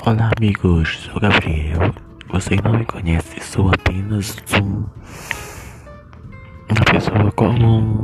Olá amigos, sou Gabriel. Vocês não me conhecem, sou apenas uma pessoa comum.